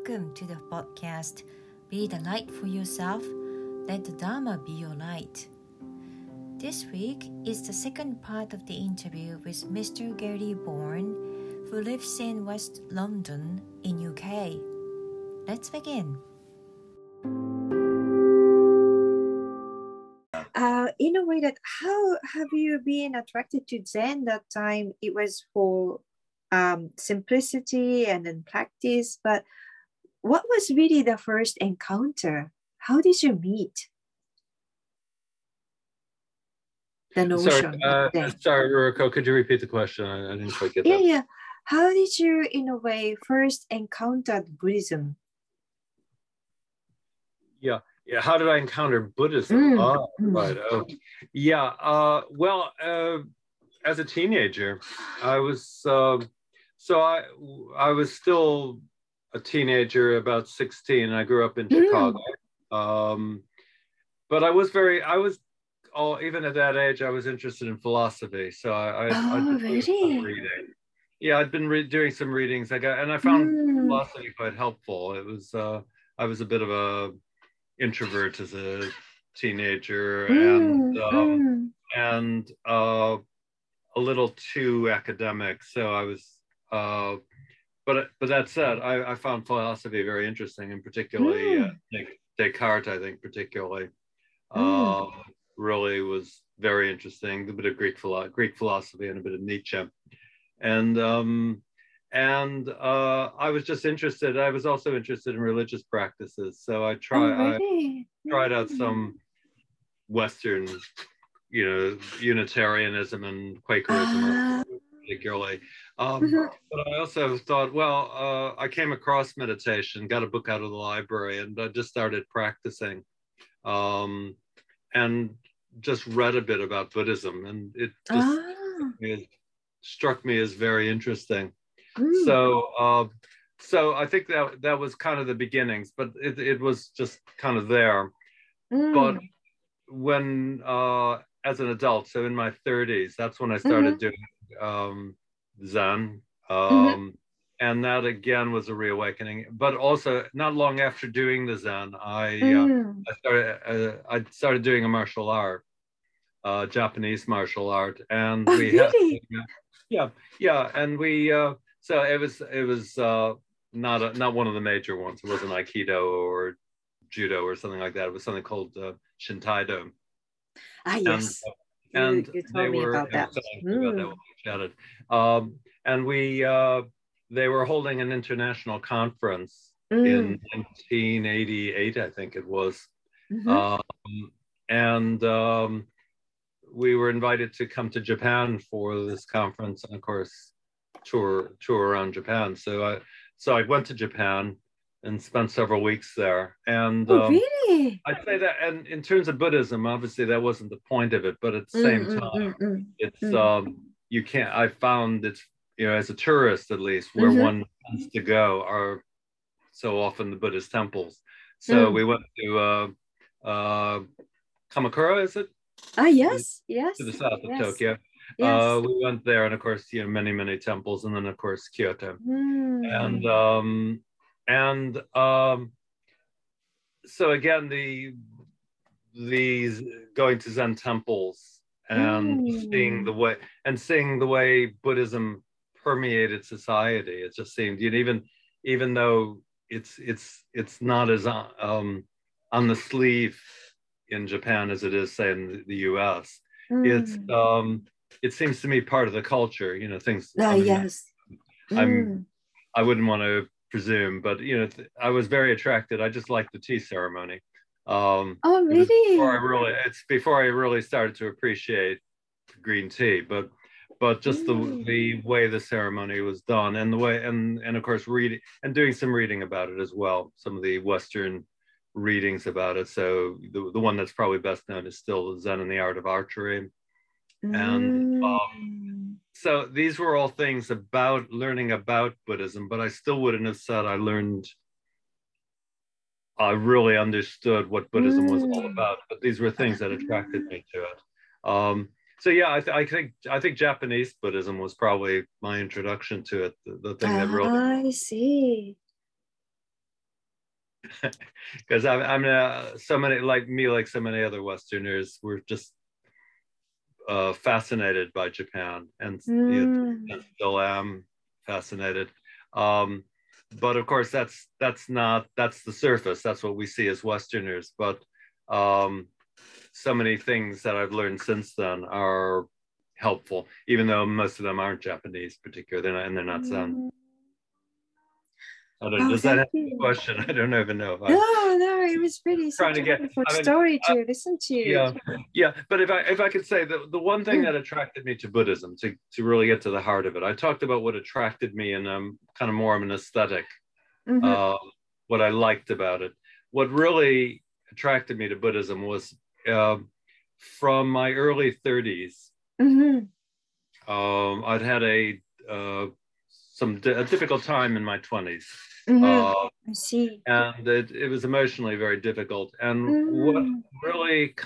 Welcome to the podcast Be the Light for Yourself, Let the Dharma Be Your Light. This week is the second part of the interview with Mr. Gary Bourne, who lives in West London in UK. Let's begin. In a way that how have you been attracted to Zen that time? It was for simplicity and then practice, but what was really the first encounter? How did you meet? The notion. Sorry, Ruriko, could you repeat the question? I didn't quite get that. Yeah. How did you, in a way, first encounter Buddhism? Yeah. How did I encounter Buddhism? Right. Oh. Yeah. Well, as a teenager, I was I was still a teenager, about 16. I grew up in Chicago. But even at that age, I was interested in philosophy. So I'd been doing some reading. Yeah, I'd been doing some readings. I found philosophy quite helpful. It was I was a bit of a introvert as a teenager, and a little too academic. So I was. But that said, I found philosophy very interesting, and particularly Descartes, I think, particularly really was very interesting. A bit of Greek philosophy and a bit of Nietzsche, and I was just interested. I was also interested in religious practices, so I tried out some Western, Unitarianism and Quakerism, particularly. But I also thought, I came across meditation, got a book out of the library, and I just started practicing, and just read a bit about Buddhism, and it just struck me as very interesting. So I think that was kind of the beginnings, but it was just kind of there. But when as an adult, so in my 30s, that's when I started doing Zen, and that again was a reawakening. But also, not long after doing the Zen, I started doing a martial art, Japanese martial art, and we had, and we so it was not one of the major ones. It wasn't Aikido or Judo or something like that. It was something called Shintaido. Yes. And you told me about that. And they were holding an international conference in 1988, I think it was. We were invited to come to Japan for this conference, and of course, tour around Japan. So I went to Japan and spent several weeks there. And really? I'd say that, and in terms of Buddhism, obviously that wasn't the point of it, but at the same time, it's you can't. I found it's, as a tourist at least, where one wants to go are so often the Buddhist temples. So we went to Kamakura, is it? Yes. To the south of Tokyo. We went there, and of course, many temples, and then of course Kyoto, and so again, these going to Zen temples and seeing the way Buddhism permeated society. It just seemed, even though it's not as on the sleeve in Japan as it is, say, in the US. It seems to me part of the culture. Things. Yes. I wouldn't want to presume, but I was very attracted. I just liked the tea ceremony. Really? It's before I really started to appreciate green tea, but just the way the ceremony was done, and the way, and of course reading and doing some reading about it as well. Some of the Western readings about it. So the one that's probably best known is still Zen and the Art of Archery. And so these were all things about learning about Buddhism, but I still wouldn't have said I really understood what Buddhism was all about. But these were things that attracted me to it. So yeah, I think Japanese Buddhism was probably my introduction to it. The thing that really. I see. because I'm so many like me, like so many other Westerners, we're just fascinated by Japan, and, and still am fascinated. But of course, that's the surface. That's what we see as Westerners. But so many things that I've learned since then are helpful, even though most of them aren't Japanese, particularly, they're not Zen. Does that answer the question? I don't even know if No, it was really such a wonderful story to listen to. Yeah. But if I could say the one thing that attracted me to Buddhism, to really get to the heart of it, I talked about what attracted me in kind of more of an aesthetic, what I liked about it. What really attracted me to Buddhism was from my early 30s. I'd had a difficult time in my 20s. I see. And it was emotionally very difficult. And what really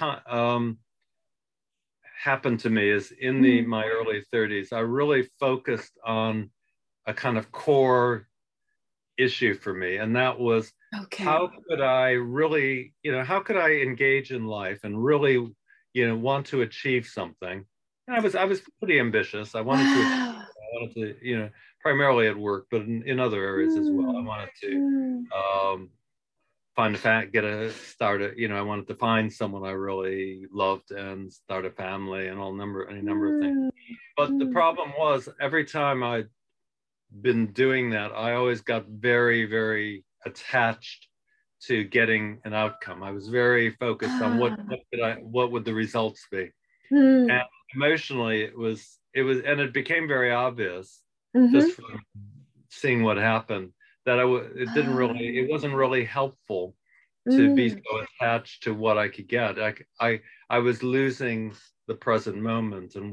happened to me is in my early 30s, I really focused on a kind of core issue for me. And that was, how could I really, how could I engage in life and really, want to achieve something? And I was pretty ambitious. I wanted to, primarily at work, but in other areas as well. I wanted to I wanted to find someone I really loved and start a family and any number of things. But the problem was, every time I'd been doing that, I always got very, very attached to getting an outcome. I was very focused on what would the results be. And emotionally, it became very obvious just from seeing what happened that it wasn't really helpful to be so attached to what I could get. I was losing the present moment and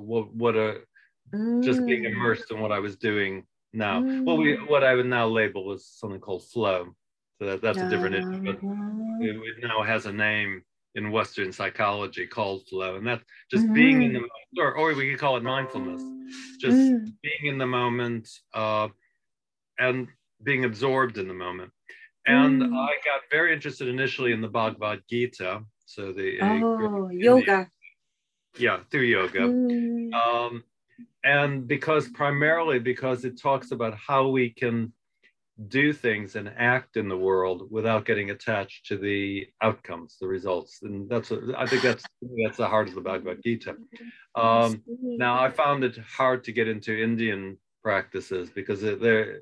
just being immersed in what I was doing now. What I would now label as something called flow. So that's a different issue, but it now has a name in Western psychology called flow, and that's just being in the moment, or we could call it mindfulness, just being in the moment and being absorbed in the moment. And I got very interested initially in the Bhagavad Gita, so yoga. Through yoga, and primarily because it talks about how we can do things and act in the world without getting attached to the outcomes, the results. And I think that's the heart of the Bhagavad Gita. Now, I found it hard to get into Indian practices because there's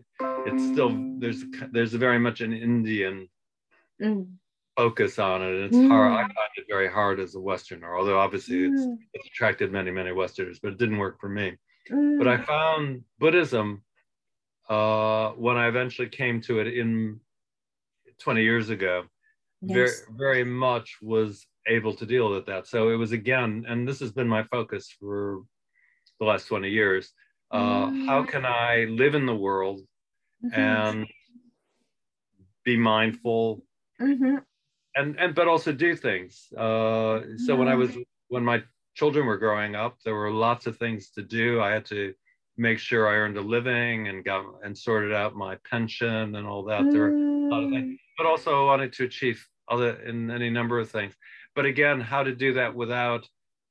very much an Indian focus on it, and it's hard. I find it very hard as a Westerner, although obviously it's attracted many, many Westerners, but it didn't work for me. But I found Buddhism, when I eventually came to it in 20 years ago, very, very much was able to deal with that. So it was, again, and this has been my focus for the last 20 years, how can I live in the world and be mindful but also do things. So when my children were growing up, there were lots of things to do. I had to make sure I earned a living and sorted out my pension and all that. There were a lot of things, but also I wanted to achieve any number of things. But again, how to do that without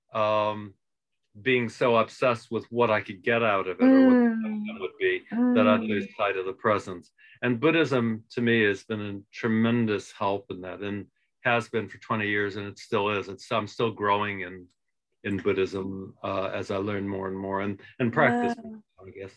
being so obsessed with what I could get out of it or what that would be, that I'd lose sight of the present. And Buddhism, to me, has been a tremendous help in that, and has been for 20 years, and it still is. I'm still growing in Buddhism as I learn more and more and practice, I guess.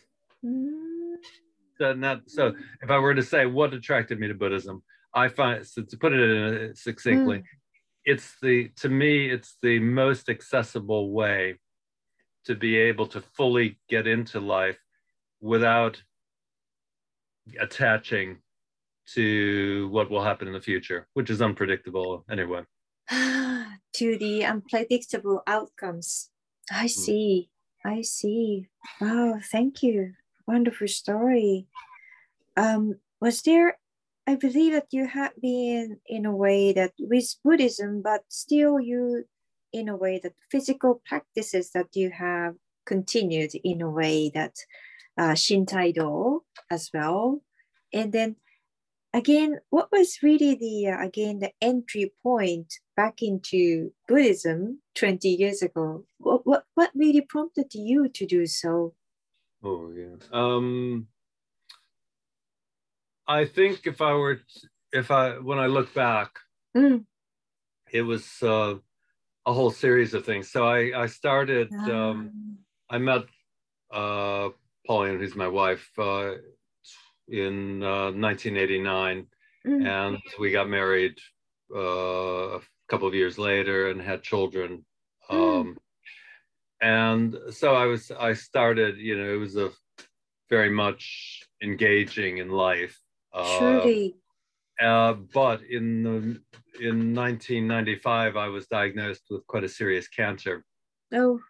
So if I were to say what attracted me to Buddhism, I find, so to put it succinctly, to me, it's the most accessible way to be able to fully get into life without attaching to what will happen in the future, which is unpredictable anyway. To the unpredictable outcomes. I see. Wow, thank you. Wonderful story. Was there, I believe that you have been in a way that with Buddhism, but still you, in a way that physical practices that you have continued in a way that Shintaido as well. And then again, what was really the again the entry point back into Buddhism 20 years ago? What really prompted you to do so? Oh yeah. I think when I look back, it was a whole series of things. So I started. I met Pauline, who's my wife, in 1989, and we got married a couple of years later and had children. And so I started, it was a very much engaging in life. Surely. But in 1995, I was diagnosed with quite a serious cancer. Oh.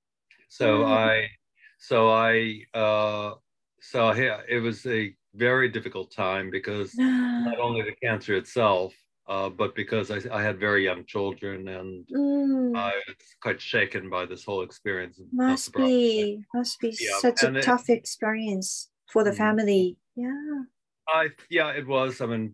It was a very difficult time because not only the cancer itself, but because I had very young children, and I was quite shaken by this whole experience. Must be such a tough experience for the family. Yeah. It was. I mean,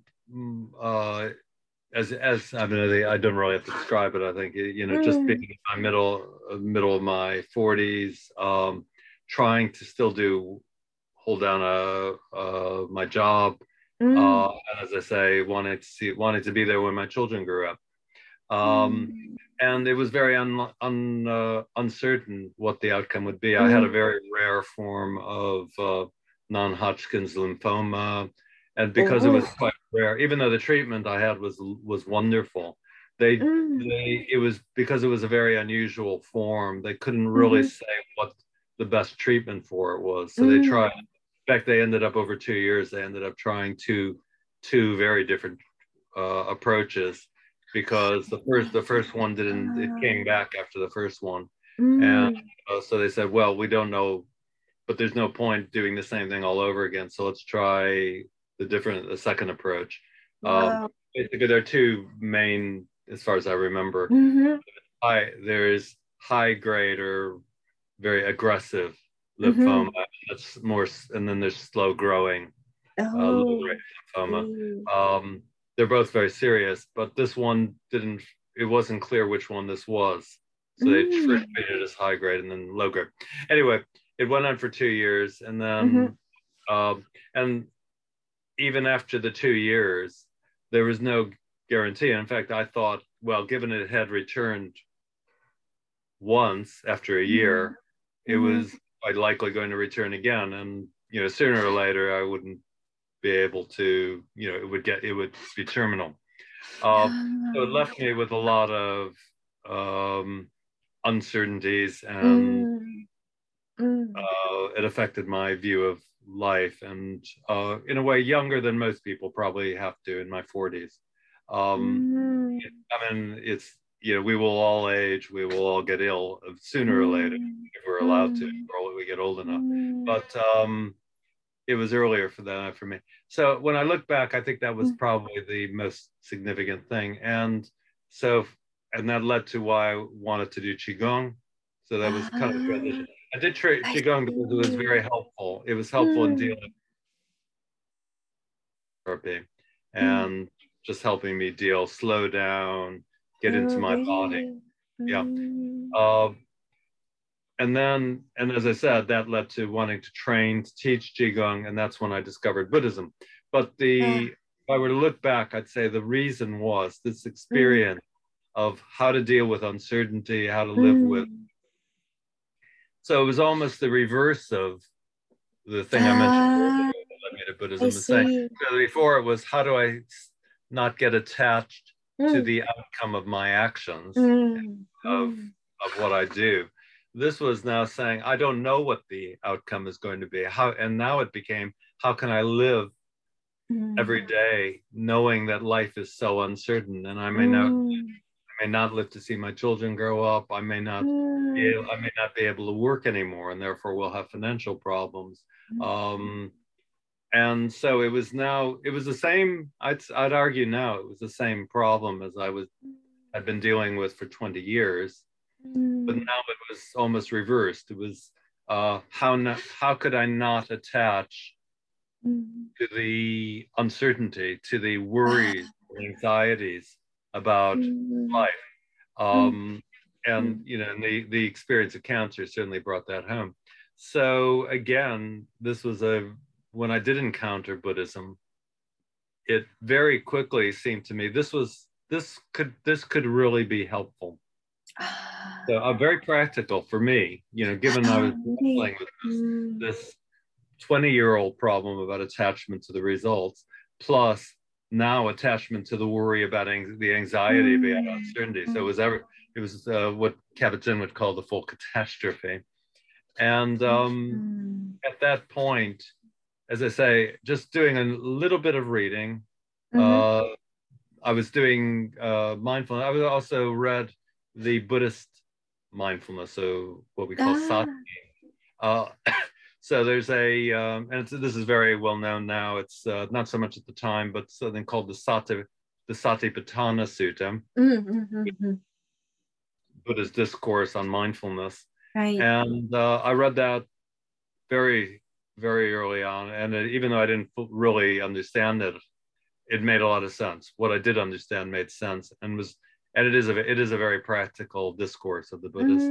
as I mean, I don't really have to describe it. I think just being in my middle of my 40s, trying to still hold down my job, and as I say, wanted to be there when my children grew up, and it was very uncertain what the outcome would be. I had a very rare form of non-Hodgkin's lymphoma, and because it was quite rare, even though the treatment I had was wonderful, it was because it was a very unusual form. They couldn't really say what the best treatment for it was, so they tried. In fact, they ended up over 2 years. They ended up trying two very different approaches, because the first one didn't. It came back after the first one, and so they said, well, we don't know, but there's no point doing the same thing all over again. So let's try the second approach. Basically, there are two main, as far as I remember. There's high grade or very aggressive lymphoma. That's more, and then there's slow growing low grade lymphoma. They're both very serious, but this one didn't. It wasn't clear which one this was, so they treated it as high grade and then low grade. Anyway, it went on for 2 years, and then and even after the 2 years, there was no guarantee. In fact, I thought, well, given it had returned once after a year, it was quite likely going to return again, and sooner or later I wouldn't be able to, it would be terminal. So it left me with a lot of uncertainties, and it affected my view of life, and in a way younger than most people probably have to, in my 40s. I mean, it's, we will all age, we will all get ill sooner or later, if we're allowed to, or we get old enough. But it was earlier for me. So when I look back, I think that was probably the most significant thing. And that led to why I wanted to do Qigong. So that was kind of a transition. I did Qigong because it was very helpful. It was helpful in dealing with therapy and just helping me slow down, get into my body. Yeah. And as I said, that led to wanting to train to teach Qigong, and that's when I discovered Buddhism. But if I were to look back, I'd say the reason was this experience of how to deal with uncertainty, how to live with. So it was almost the reverse of the thing I mentioned earlier that led me to Buddhism. So before it was, how do I not get attached to the outcome of my actions, of what I do? This was now saying, I don't know what the outcome is going to be. And now it became, how can I live every day knowing that life is so uncertain, and I may not live to see my children grow up. I may not be able to work anymore, and therefore we'll have financial problems. And so it was the same. I'd argue now it was the same problem as I'd been dealing with for 20 years. But now it was almost reversed. It was how could I not attach to the uncertainty, to the worries, anxieties about life. And you know, and the experience of cancer certainly brought that home. So again, this was when I did encounter Buddhism, it very quickly seemed to me this could really be helpful. So very practical for me, you know, given I was playing with this 20-year-old problem about attachment to the results, plus now attachment to the worry about the anxiety about uncertainty. So it was what Kabat-Zinn would call the full catastrophe. And at that point, as I say, just doing a little bit of reading, I was doing mindfulness. I also read the Buddhist mindfulness, so what we call sati. So there's and this is very well known now. It's not so much at the time, but something called the Satipatthana Sutta, Buddha's discourse on mindfulness. Right. And I read that very, very early on, and even though I didn't really understand it, it made a lot of sense. What I did understand made sense, and it is a very practical discourse of the Buddhist.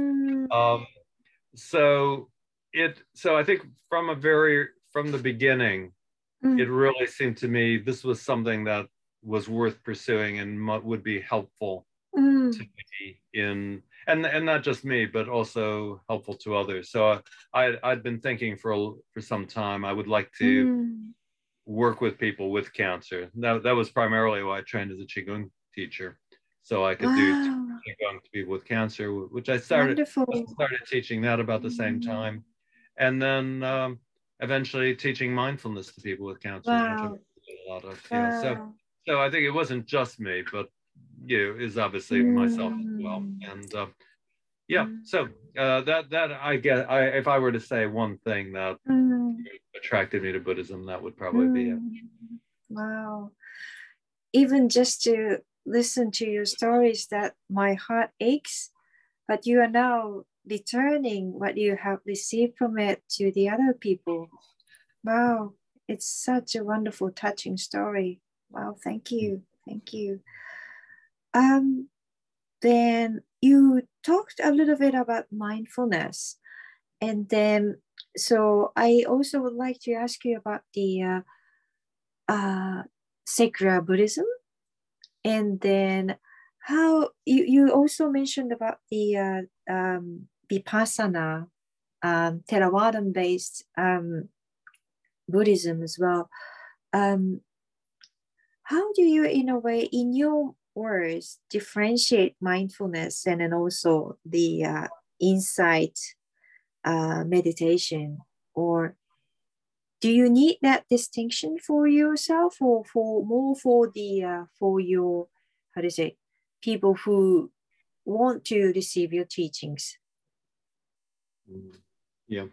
So I think from the beginning, it really seemed to me this was something that was worth pursuing and would be helpful to me and not just me, but also helpful to others. So I'd been thinking for some time I would like to work with people with cancer. That was primarily why I trained as a Qigong teacher, so I could do Qigong to people with cancer, which I started teaching that about the same time. And then eventually teaching mindfulness to people with cancer, which I did a lot of. Yeah. So I think it wasn't just me, but is obviously myself as well. And so that I get. If I were to say one thing that attracted me to Buddhism, that would probably be it. Wow! Even just to listen to your stories, that my heart aches. But you are now returning what you have received from it to the other people. Wow, it's such a wonderful, touching story. Wow, thank you. Then you talked a little bit about mindfulness, and then so I also would like to ask you about the sacred Buddhism, and then how you also mentioned about the Vipassana, Theravada-based Buddhism as well. How do you, in a way, in your words, differentiate mindfulness and then also the insight meditation? Or do you need that distinction for yourself, or for your, how to say, people who want to receive your teachings? Yeah.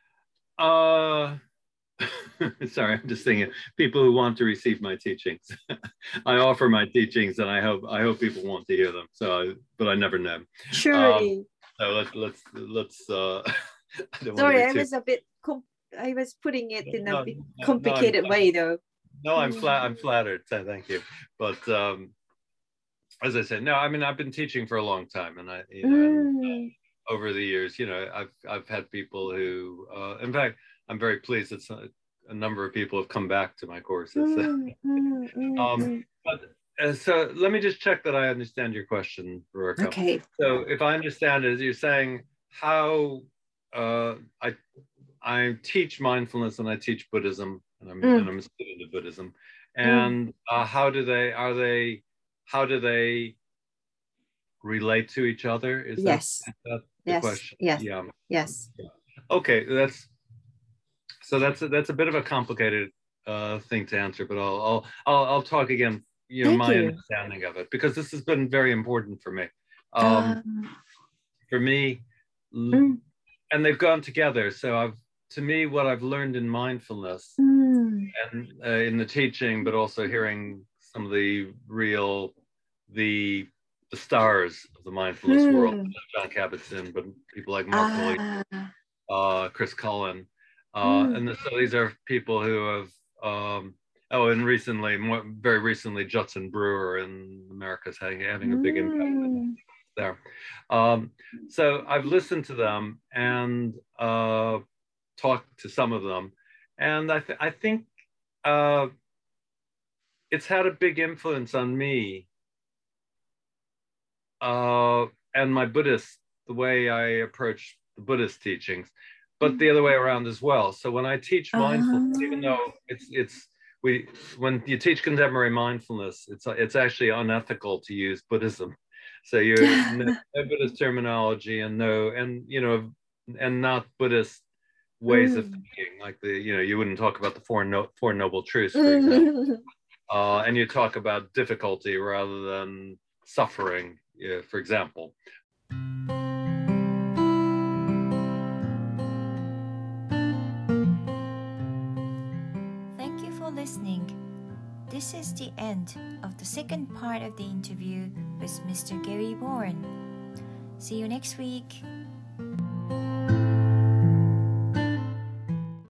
Sorry, I'm just thinking people who want to receive my teachings. I offer my teachings, and I hope people want to hear them. But I never know. Surely. So let's. Sorry, I was a bit. I was putting it in a bit complicated way, though. No, I'm flattered. So thank you. But as I said, no, I mean I've been teaching for a long time, and and, over the years, I've had people who, in fact, I'm very pleased that a number of people have come back to my courses. So let me just check that I understand your question, Ruoka. Okay. So if I understand it, you're saying how I teach mindfulness and I teach Buddhism, and I'm a student of Buddhism, and how do they relate to each other? Is that the question? Yes. Yeah. Yes. Okay, that's a bit of a complicated thing to answer, but I'll talk again. My understanding of it, because this has been very important for me. For me, and they've gone together. So to me, what I've learned in mindfulness and in the teaching, but also hearing some of the stars of the mindfulness world, John Kabat-Zinn, but people like Mark Williams, Chris Cullen, and so these are people who have And very recently, Judson Brewer in America is having a big impact there. So I've listened to them and talked to some of them, and I think it's had a big influence on me and my Buddhist, the way I approach the Buddhist teachings, but the other way around as well. So when I teach mindfulness, even though when you teach contemporary mindfulness, it's actually unethical to use Buddhism. So no Buddhist terminology and not Buddhist ways of thinking, like you wouldn't talk about the Four Noble Truths, for example, and you talk about difficulty rather than suffering, for example. Thank you for listening. This is the end of the second part of the interview with Mr. Gary Bourne. See you next week.